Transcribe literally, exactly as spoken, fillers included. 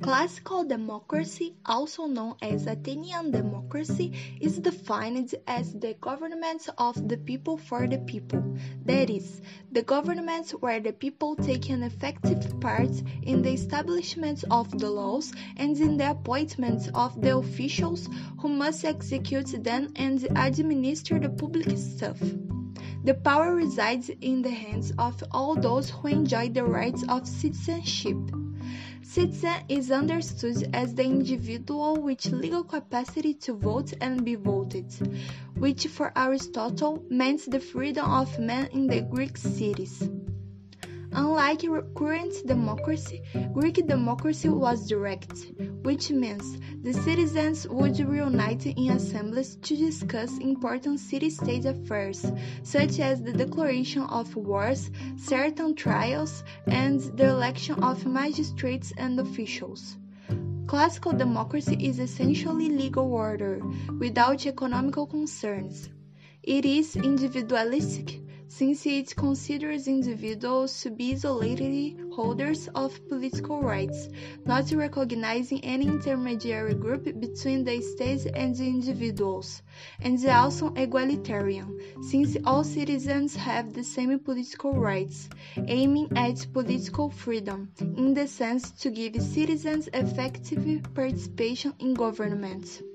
Classical democracy, also known as Athenian democracy, is defined as the government of the people for the people. That is, the government where the people take an effective part in the establishment of the laws and in the appointment of the officials who must execute them and administer the public stuff. The power resides in the hands of all those who enjoy the rights of citizenship. Citizen is understood as the individual with legal capacity to vote and be voted, which for Aristotle meant the freedom of man in the Greek cities. Unlike current democracy, Greek democracy was direct, which means the citizens would reunite in assemblies to discuss important city-state affairs, such as the declaration of wars, certain trials, and the election of magistrates and officials. Classical democracy is essentially legal order, without economical concerns. It is individualistic, since it considers individuals to be isolated holders of political rights, not recognizing any intermediary group between the state and the individuals, and also egalitarian, since all citizens have the same political rights, aiming at political freedom, in the sense to give citizens effective participation in government.